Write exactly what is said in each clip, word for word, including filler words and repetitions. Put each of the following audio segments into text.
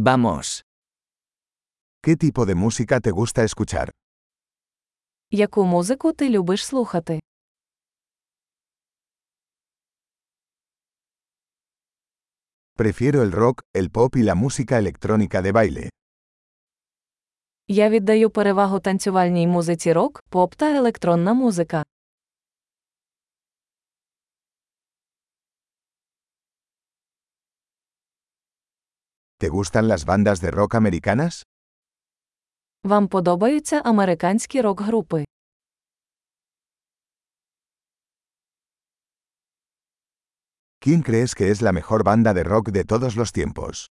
Vamos. ¿Qué tipo de música te gusta escuchar? Яку музику ти любиш слухати? Prefiero el rock, el pop y la música electrónica de baile. Я віддаю перевагу танцювальній музиці рок, поп та електронна музика. ¿Te gustan las bandas de rock americanas? Вам подобаються американські рок-групи? ¿Quién crees que es la mejor banda de rock de todos los tiempos?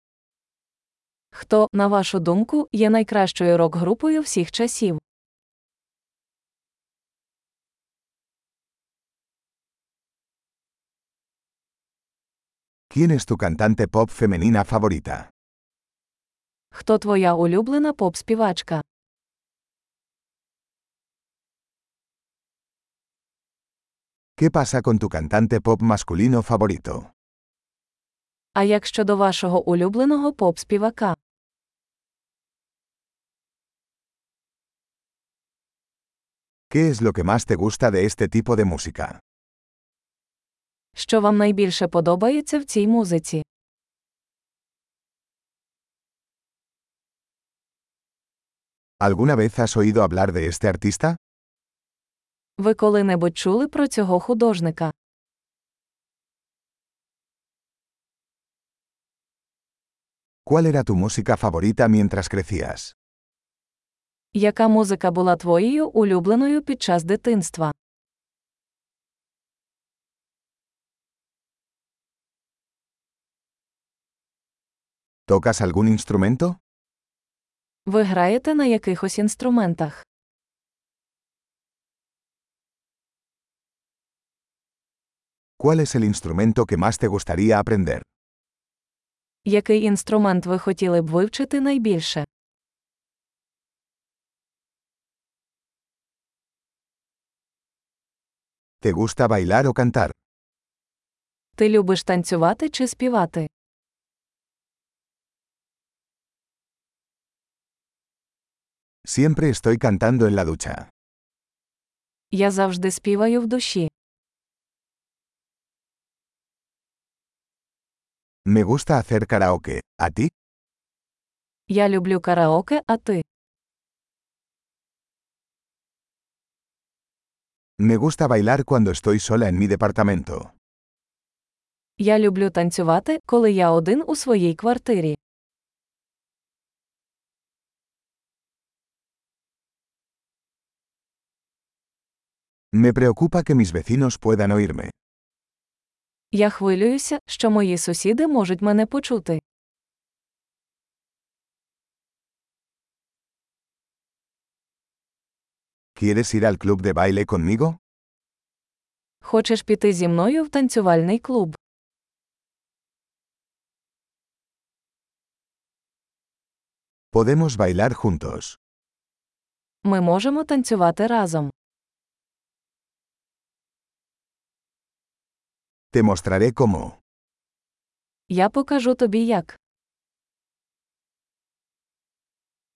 Хто, на вашу думку, є найкращою рок-групою всіх часів? ¿Quién es tu cantante pop femenina favorita? Хто твоя улюблена поп-співачка? ¿Qué pasa con tu cantante pop masculino favorito? А як щодо вашого улюбленого поп-співака? ¿Qué es lo que más te gusta de este tipo de música? Що вам найбільше подобається в цій музиці? ¿Alguna vez has oído hablar de este artista? Ви коли-небудь чули про цього художника? ¿Cuál era tu música favorita mientras crecías? Яка музика була твоєю улюбленою під час дитинства? ¿Tocas algún instrumento? Ви граєте на якихось інструментах? ¿Cuál es el instrumento que más te gustaría aprender? Який інструмент ви хотіли б вивчити найбільше? ¿Te gusta bailar o cantar? Ти любиш танцювати чи співати? Siempre estoy cantando en la ducha. Я завжди співаю в душі. Me gusta hacer karaoke. ¿A ti? Я люблю караоке, а ти? Me gusta bailar cuando estoy sola en mi departamento. Я люблю танцювати, коли я один у своїй квартирі. Me preocupa que mis vecinos puedan oírme. Я хвилююся, що мої сусіди можуть мене почути. ¿Quieres ir al club de baile conmigo? Хочеш піти зі мною в танцювальний клуб? Podemos bailar juntos. Ми можемо танцювати разом. Te mostraré cómo. Я покажу тобі як.